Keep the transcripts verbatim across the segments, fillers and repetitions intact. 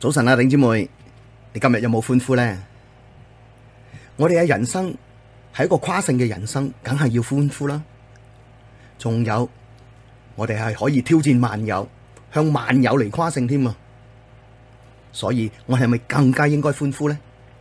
早晨啊，頂姊妹，你今日有冇歡呼呢？我哋嘅人生係一個誇勝嘅人生，梗係要歡呼啦。仲有，我哋係可以挑戰萬有，向萬有嚟誇勝添啊！所以我係咪更加應該歡呼呢？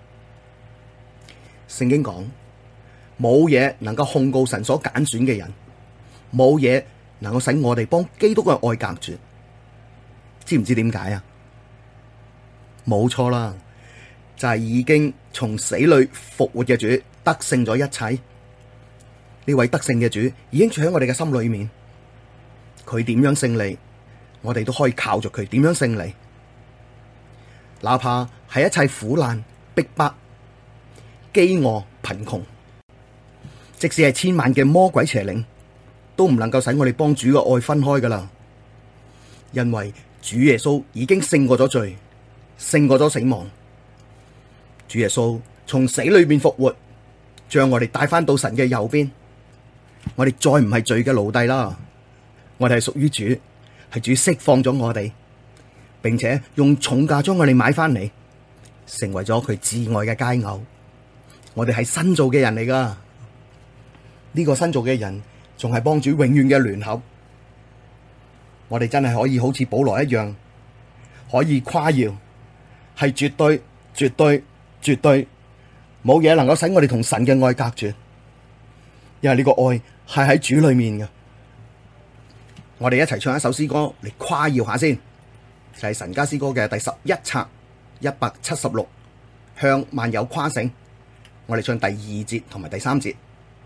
聖經講，冇嘢能夠控告神所揀選嘅人，冇嘢能夠使我哋幫基督嘅愛隔絕。知唔知點解啊？冇錯啦，就係已經從死裏復活嘅主得勝咗一切。呢位得勝嘅主已經住喺我哋嘅心裏面，佢點樣勝利，我哋都可以靠着佢點樣勝利。哪怕係一切苦難、逼迫、飢餓、貧窮，即使係千萬嘅魔鬼邪靈，都唔能夠使我哋幫主嘅愛分開噶啦。因為主耶穌已經勝過咗罪，勝過咗死亡。主耶穌從死裏面復活，將我哋帶翻到神嘅右邊。我哋再唔係罪嘅奴隸啦，我哋係屬於主，係主釋放咗我哋，並且用重價將我哋買翻嚟，成為咗佢至愛嘅佳偶。我哋係新造嘅人嚟噶，呢個新造嘅人仲係幫主永遠嘅聯合。我哋真係可以好似保羅一樣，可以誇耀，係絕對、絕對、絕對冇嘢能夠使我哋同神嘅愛隔絕，因為呢個愛係喺主裏面嘅。我哋一齊唱一首詩歌嚟誇耀下先，就係神家詩歌嘅第十一冊一百七十六，向萬有誇勝。我哋唱第二節同埋第三節。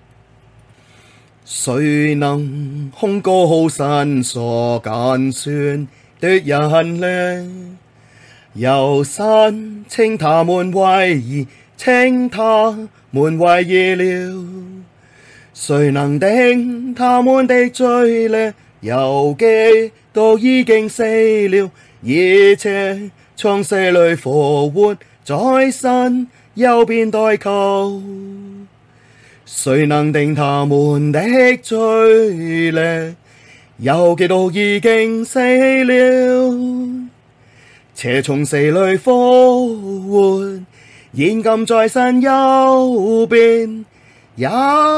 誰能控告神所揀選的人呢？有神稱他們為義，稱他們為義了。誰能定他們的罪呢？有基督已經死了，而且從死裡復活，在神右邊代求。誰能定他們的罪呢？有基督已經死了，且從死裡復活，現今在神右邊，也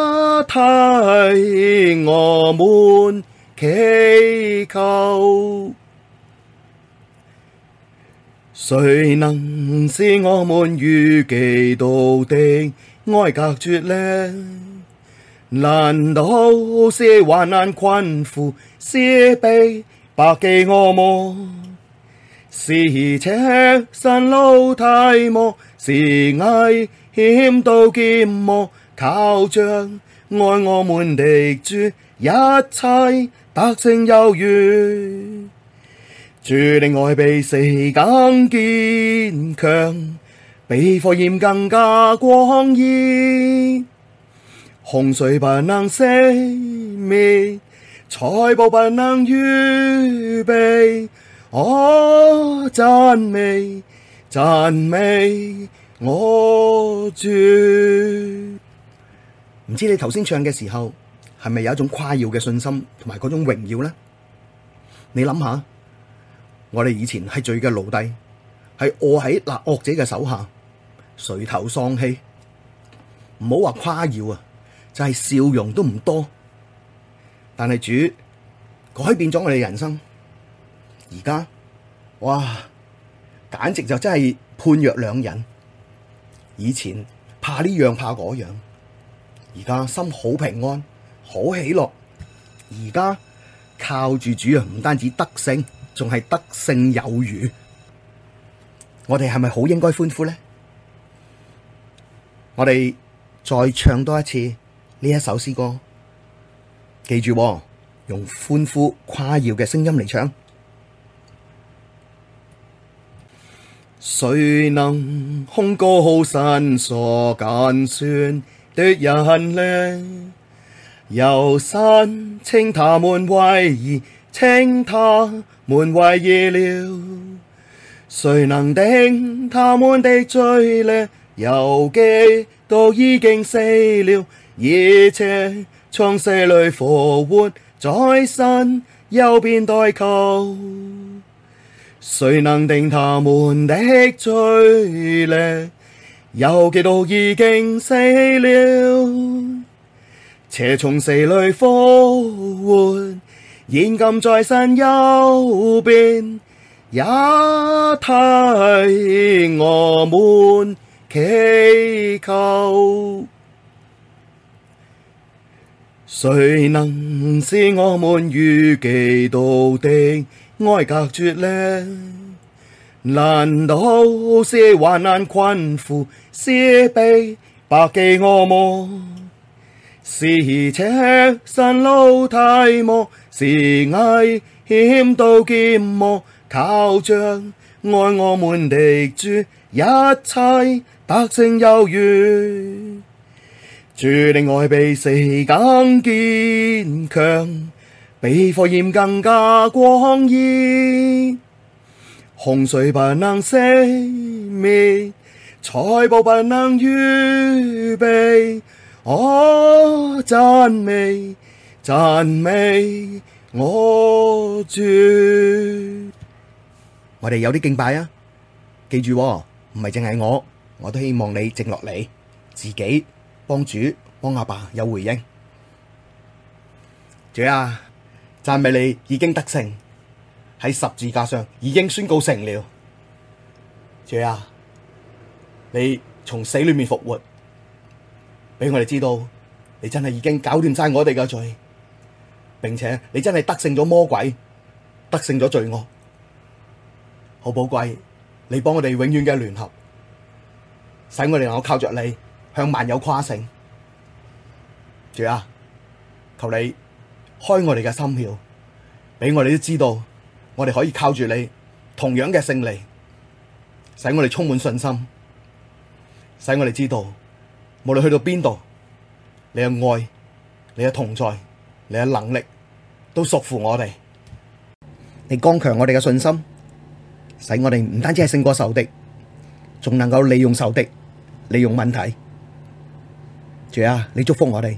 替我們祈求。誰能使我們與基督的愛隔絕呢？難道是患難困苦，是逼迫饑餓麼？是赤身露體麼？是危險刀劍麼？靠着愛我們的主，一切得勝有餘。主的愛比死更堅強，比火焰更加光熱。洪水不能熄滅，財寶不能預備。哦，讚美讚美我主。唔知你頭先唱嘅時候係咪有一種誇耀嘅信心同埋嗰種榮耀呢？你諗下，我哋以前係罪嘅奴隸，係臥喺那惡者嘅手下，垂頭喪氣，唔好話誇耀啊，就係笑容都唔多。但係主改變咗我哋人生，而家哇，簡直就真係判若兩人。以前怕呢樣怕嗰樣，而家心好平安，好喜樂。而家靠住主啊，唔單止得勝，仲係得勝有餘。我哋係咪好應該歡呼呢？我哋再唱多一次呢一首詩歌，記住喎，用歡呼誇耀嘅聲音嚟唱。誰能控告神所揀選的人呢？有神稱他們為義，稱他們為義了。誰能定他們的罪呢？有基督已經死了，而且從死裡復活，在神右邊代求。 誰能定他們的罪孽？有基督已經死了，且從死裡復活，現今在神右邊，也替我們祈求。誰能使我們與基督的愛隔絕呢？難道是患難困苦，是逼迫饑餓麼？是赤身露體麼？是危險刀劍麼？靠着愛我們的主，一切得勝有餘。主的愛比死更堅強，比火焰更加光熱。洪水不能熄滅，財寶不能預備。哦，讚美讚美我主！我哋有啲敬拜啊！記住喎，唔係淨係我，我都希望你靜落嚟，自己幫主幫阿爸有回應。主啊，讚美你已經得勝，喺十字架上已經宣告成了。主啊，你從死裡面復活，俾我哋知道你真係已經搞掂晒我哋嘅罪，並且你真係得勝咗魔鬼，得勝咗罪惡。好寶貴，你幫我哋永遠嘅聯合，使我哋能夠靠着你向萬有誇勝。主啊，求你開我哋嘅心竅，俾我哋都知道，我哋可以靠住你同樣嘅勝利，使我哋充滿信心，使我哋知道無論去到邊度，你嘅愛、你嘅同在、你嘅能力都屬乎我哋。你剛強我哋嘅信心，使我哋唔單止係勝過仇敵，仲能夠利用仇敵，利用問題。主啊，你祝福我哋。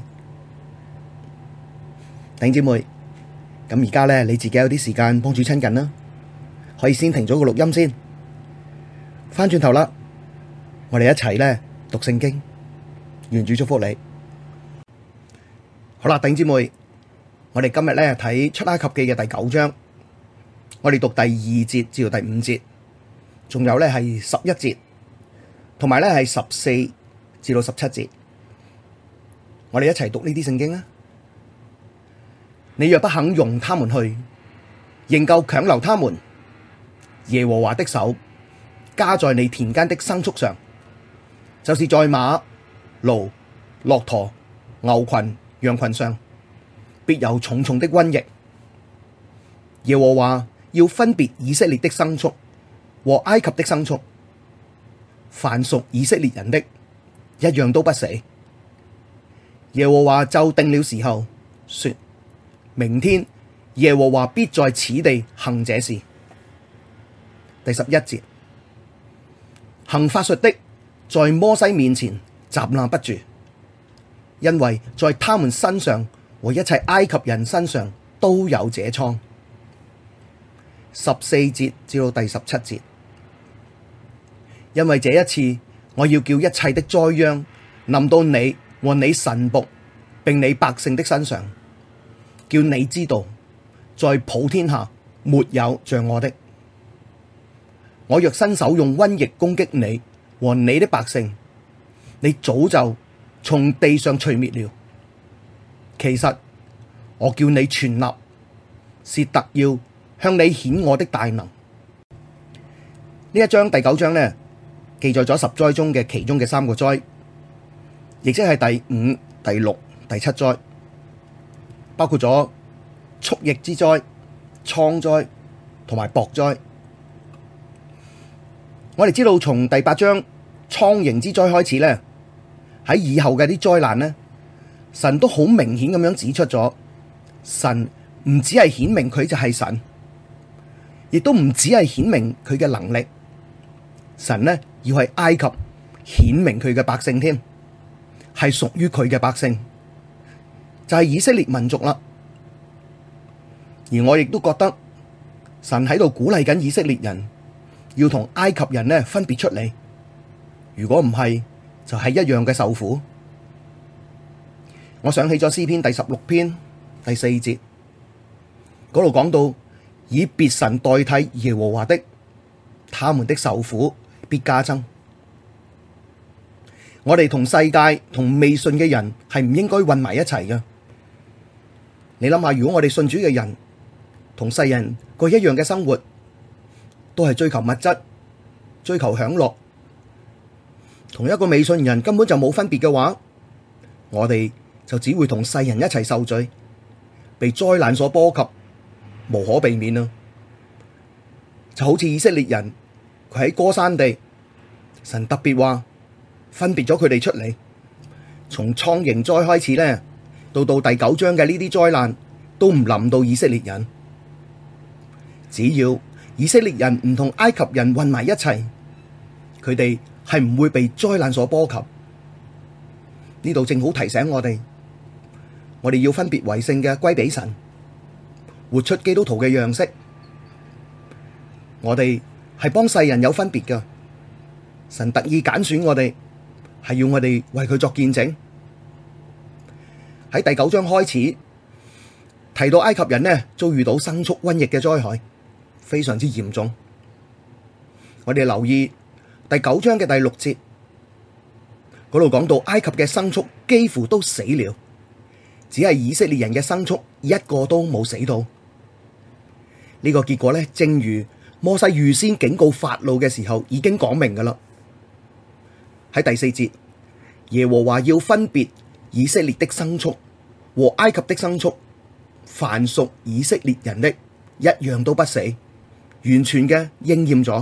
弟兄姊妹，咁而家咧，你自己有啲時間幫主親近啦，可以先停咗個錄音先，翻轉頭啦，我哋一齊咧讀聖經，願主祝福你。好啦，弟兄姊妹，我哋今日咧睇出埃及記嘅第九章，我哋讀第二節至到第五節，仲有咧係十一節，同埋咧係十四至到十七節，我哋一齊讀呢啲聖經啊！你若不肯容他們去，仍舊強留他們，耶和華的手加在你田間的牲畜上，就是在馬、驢、駱駝、牛群、羊群上，必有重重的瘟疫。耶和華要分別以色列的牲畜和埃及的牲畜，凡屬以色列人的，一樣都不死。耶和華就定了時候，說：明天耶和華必在此地行這事。第十一節，行法術的在摩西面前站立不住，因為在他們身上和一切埃及人身上都有這瘡。十四節至到第十七節，因為這一次我要叫一切的災殃臨到你和你臣僕並你百姓的身上，叫你知道，在普天下沒有像我的。我若伸手用瘟疫攻擊你和你的百姓，你早就從地上除滅了。其實我叫你存立，是特要向你顯我的大能。呢一章第九章呢，記載咗十災中嘅其中嘅三個災，亦即係第五、第六、第七災。包括咗畜疫之災、瘡災同埋雹災。我哋知道從第八章蒼蠅之災開始咧，喺以後嘅啲災難咧，神都好明顯咁樣指出咗，神唔只係顯明佢就係神，亦都唔只係顯明佢嘅能力。神呢要喺埃及顯明佢嘅百姓添，係屬於佢嘅百姓。就係以色列民族啦，而我亦都覺得神喺度鼓勵緊以色列人要同埃及人呢分別出嚟，如果唔係就係一樣嘅受苦。我想起咗詩篇第十六篇第四節嗰度講到，以別神代替耶和華的，他們的受苦必加增。我哋同世界同未信嘅人係唔應該混埋一齊嘅。你諗下，如果我哋信主嘅人同世人過一樣嘅生活，都係追求物質、追求享樂，同一個未信人根本就冇分別嘅話，我哋就只會同世人一齊受罪，被災難所波及，無可避免啊！就好似以色列人，佢喺歌珊地，神特別話分別咗佢哋出嚟，從創營災開始咧，到到第九章嘅呢啲災難都唔臨到以色列人。只要以色列人唔同埃及人混埋一齊，佢哋係唔會被災難所波及。呢度正好提醒我哋，我哋要分別為聖嘅歸俾神，活出基督徒嘅樣式。我哋係幫世人有分別㗎，神特意揀選我哋，係要我哋為佢作見證。喺第九章開始提到埃及人呢，遭遇到牲畜瘟疫嘅災害，非常之嚴重。我哋留意第九章嘅第六節，嗰度講到埃及嘅牲畜幾乎都死了，只係以色列人嘅牲畜一個都冇死到。呢個結果呢，正如摩西預先警告法老嘅時候已經講明噶啦。喺第四節，耶和華要分別以色列的牲畜和埃及的牲畜，凡屬以色列人的，一樣都不死，完全嘅應驗咗。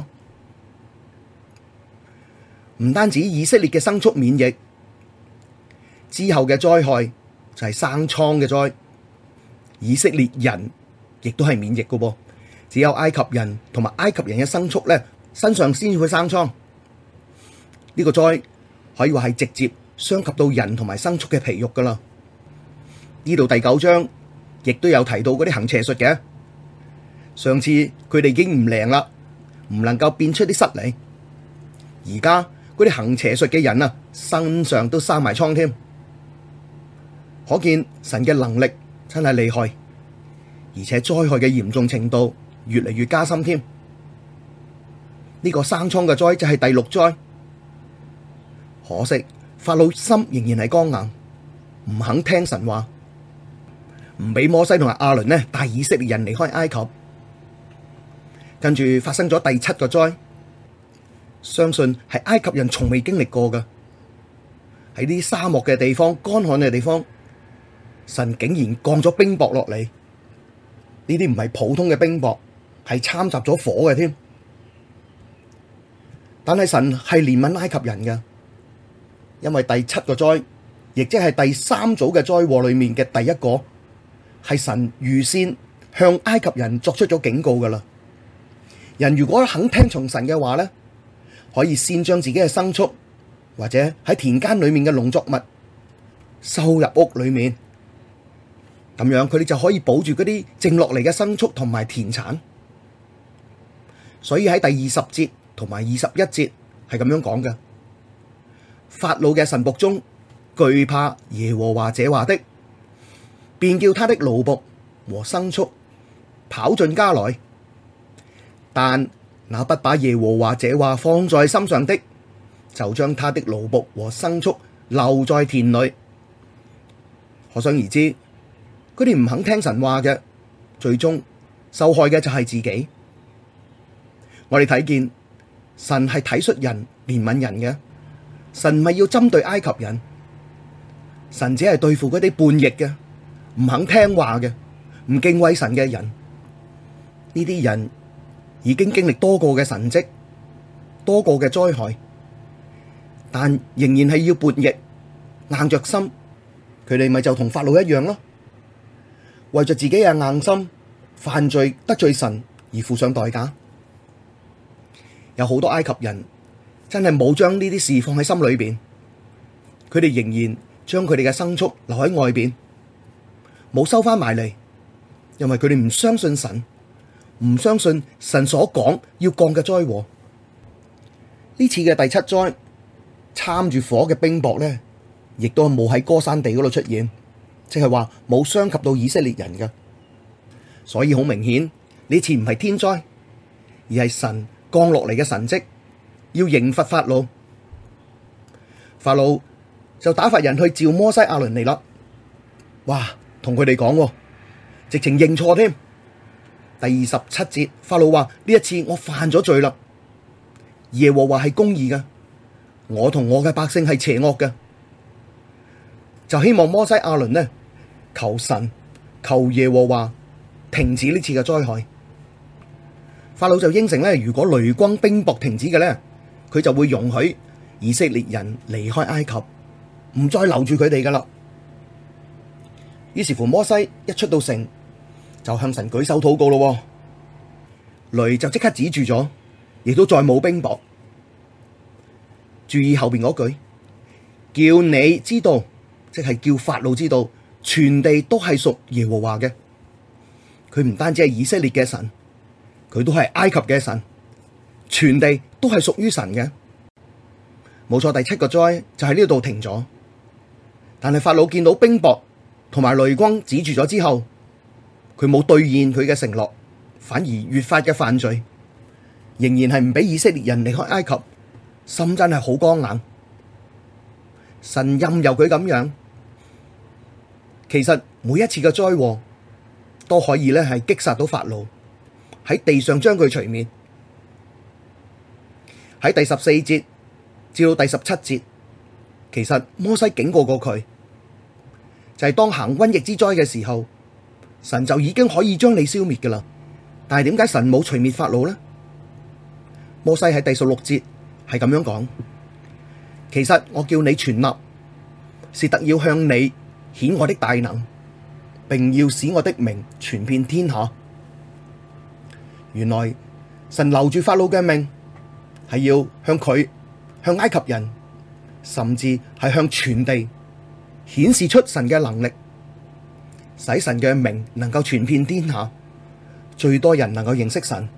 唔單止以色列嘅牲畜免疫，之後嘅災害就係生瘡嘅災，以色列人亦都係免疫嘅噃。只有埃及人同埋埃及人嘅牲畜咧，身上先至會生瘡。呢個災可以話係直接傷及到人同埋牲畜嘅皮肉噶啦。呢度第九章亦都有提到嗰啲行邪術嘅。上次佢哋已經唔靈啦，唔能夠變出啲虱嚟。而家嗰啲行邪術嘅人啊，身上都生埋瘡添。可見神嘅能力真係厲害，而且災害嘅嚴重程度越嚟越加深添。呢個生瘡嘅災就係第六災。可惜法老心仍然係剛硬，唔肯聽神話，唔俾摩西同埋亞倫呢帶以色列人離開埃及。跟住發生咗第七個災，相信係埃及人從未經歷過嘅。喺啲沙漠嘅地方、乾旱嘅地方，神竟然降咗冰雹落嚟。呢啲唔係普通嘅冰雹，係摻雜咗火嘅添。但係神係憐憫埃及人嘅，因為第七個災，亦即係第三組嘅災禍裏面嘅第一個，係神預先向埃及人作出咗警告噶啦。人如果肯聽從神嘅話呢，可以先將自己嘅牲畜或者喺田間裏面嘅農作物收入屋裏面，咁樣佢哋就可以保住嗰啲剩落嚟嘅牲畜同埋田產。所以喺第二十節同埋二十一節係咁樣講嘅：法老嘅臣僕中懼怕耶和華這話的，便叫他的奴僕和牲畜跑進家來。但那不把耶和華這話放在心上的，就將他的奴僕和牲畜留在田裡。可想而知，佢哋唔肯聽神話嘅，最終受害嘅就係自己。我哋睇見神係體恤人、憐憫人嘅，神唔係要針對埃及人，神只係對付嗰啲叛逆嘅、唔肯聽話嘅、唔敬畏神嘅人。呢啲人已經經歷多個嘅神蹟，多個嘅災害，但仍然係要叛逆，硬着心，佢哋咪就同法老一樣咯，為着自己嘅硬心犯罪得罪神而付上代價。有好多埃及人真係冇將呢啲事放喺心裏邊，佢哋仍然將佢哋嘅牲畜留喺外邊，冇收翻埋嚟，因為佢哋唔相信神， 唔相信神所講要降嘅災禍。呢次嘅第七災，摻住火嘅冰雹呢，亦都係冇喺歌珊地嗰度出現，即係話冇傷及到以色列人嘅。所以好明顯，呢次唔係天災，而係神降落嚟嘅神蹟，要刑罰法老。法老就打發人去召摩西亞倫嚟啦。哇，同佢哋講，直情認錯添。第二十七節，法老話：呢一次我犯咗罪啦，耶和華係公義嘅，我同我嘅百姓係邪惡嘅，就希望摩西亞倫呢，求神求耶和華停止呢次嘅災害。法老就應承呢，如果雷轟冰雹停止嘅呢，佢就會容許以色列人離開埃及，唔再留住佢哋噶啦。於是乎，摩西一出到城，就向神舉手禱告咯，雷就即刻止住咗，亦都再冇冰雹。注意後邊嗰句，叫你知道，即係叫法老知道，全地都係屬耶和華嘅。佢唔單止係以色列嘅神，佢都係埃及嘅神，全地都係屬於神嘅。冇錯，第七個災就喺呢度停咗。但係法老見到冰雹同埋雷轟止住咗之後，佢冇兌現佢嘅承諾，反而越發嘅犯罪，仍然係唔俾以色列人離開埃及，心真係好剛硬。神任由佢咁樣，其實每一次嘅災禍都可以咧係擊殺到法老，喺地上將佢除滅。喺第十四節至到第十七節，其實摩西警告過佢，就係當行瘟疫之災嘅時候，神就已經可以將你消滅噶啦。但係點解神冇除滅法老呢？摩西喺第十六節係咁樣講：其實我叫你存立，是特要向你顯我的大能，並要使我的名傳遍天下。原來神留住法老嘅命，係要向佢、向埃及人，甚至係向全地顯示出神嘅能力，使神嘅名能夠傳遍天下，最多人能夠認識神。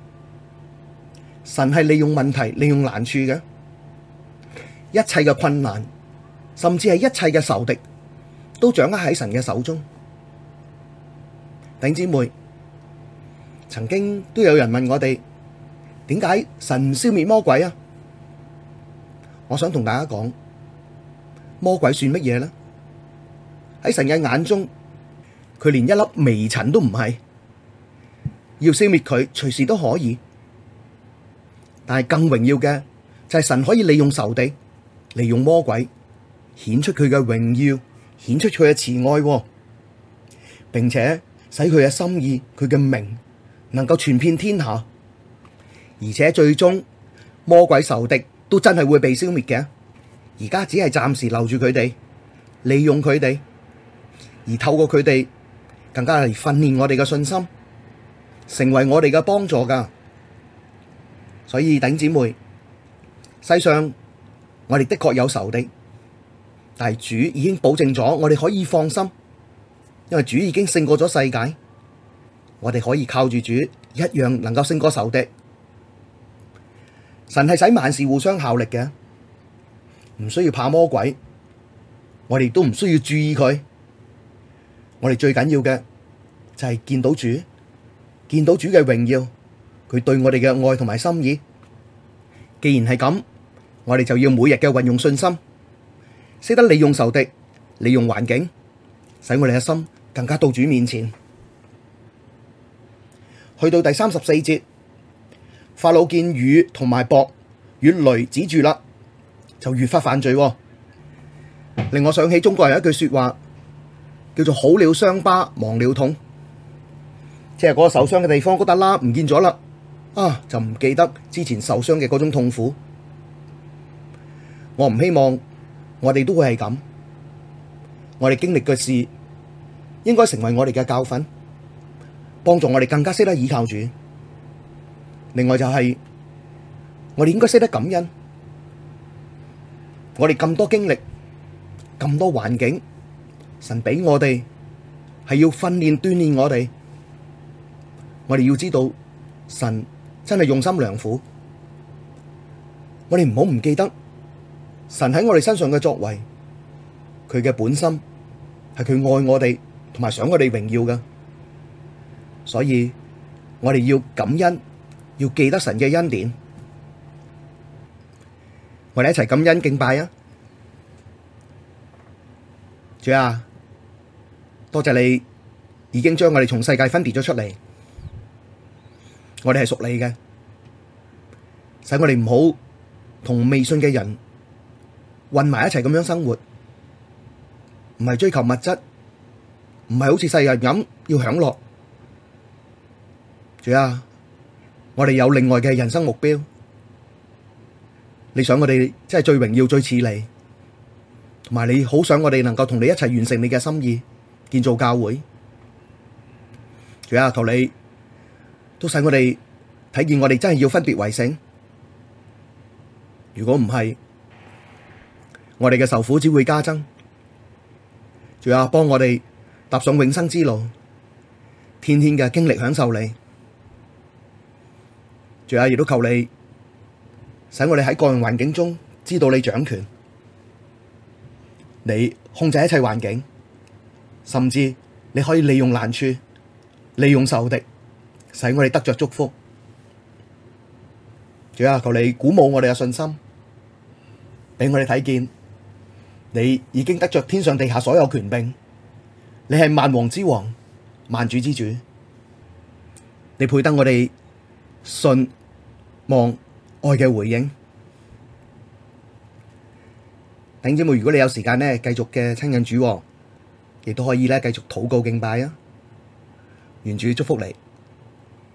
神係利用問題、利用難處嘅，一切嘅困難，甚至係一切嘅仇敵，都掌握喺神嘅手中。弟兄姊妹，曾經都有人問我哋，點解神唔消滅魔鬼啊？我想同大家講，魔鬼算乜嘢呢？喺神嘅眼中，佢連一粒微塵都唔係，要消滅佢隨時都可以。但係更榮耀嘅就係神可以利用仇敵，利用魔鬼，顯出佢嘅榮耀，顯出佢嘅慈愛，並且使佢嘅心意、佢嘅名能夠傳遍天下。而且最終魔鬼仇敵都真係會被消滅嘅，而家只係暫時留住佢哋，利用佢哋，而透過佢哋更加嚟訓練我哋嘅信心，成為我哋嘅幫助噶。所以弟兄姊妹，世上我哋的確有仇敵，但係主已經保證咗，我哋可以放心，因為主已經勝過咗世界，我哋可以靠住主一樣能夠勝過仇敵。神係使萬事互相效力嘅，唔需要怕魔鬼，我哋都唔需要注意佢。我哋最緊要嘅就係見到主，見到主嘅榮耀，佢對我哋嘅愛同埋心意。既然係咁，我哋就要每日嘅運用信心，識得利用仇敵，利用環境，使我哋嘅心更加到主面前。去到第三十四節，法老見雨同埋雹與雷止住啦，就越發犯罪，令我想起中國人有一句說話，叫做好了傷疤忘了痛，即係嗰個受傷嘅地方嗰笪疤唔見咗啦，啊就唔記得之前受傷嘅嗰種痛苦。我唔希望我哋都會係咁，我哋經歷嘅事應該成為我哋嘅教訓，幫助我哋更加識得倚靠主。另外就係、是、我哋應該識得感恩，我哋咁多經歷，咁多環境，神俾我哋係要訓練鍛鍊我哋， 我哋要知道神真係用心良苦，我哋唔好唔記得神喺我哋身上嘅作為，佢嘅本心係佢愛我哋，同埋想我哋榮耀㗎，所以我哋要感恩，要記得神嘅恩典，我哋一齊感恩敬拜啊！主啊，多謝你已經將我哋從世界分別咗出嚟，我哋係屬你嘅，使我哋唔好同未信嘅人混埋一齊咁樣生活，唔係追求物質，唔係好似世人咁要享樂。主啊，我哋有另外嘅人生目標，你想我哋真係最榮耀、最似你，同埋你好想我哋能夠同你一齊完成你嘅心意，建造教會。主啊，求你都使我哋睇見我哋真係要分別為聖。如果唔係，我哋嘅受苦只會加增。主啊，幫我哋踏上永生之路，天天嘅經歷享受你。主啊，亦都求你使我哋喺各樣環境中知道你掌權，你控制一切環境，甚至你可以利用難處，利用仇敵，使我哋得着祝福。主啊，求你鼓舞我哋嘅信心，俾我哋睇見你已經得着天上地下所有權柄，你係萬王之王，萬主之主，你配得我哋信望愛嘅回應。弟兄姊妹，如果你有時間呢，繼續嘅親近主，亦都可以咧繼續禱告敬拜啊！願主祝福你。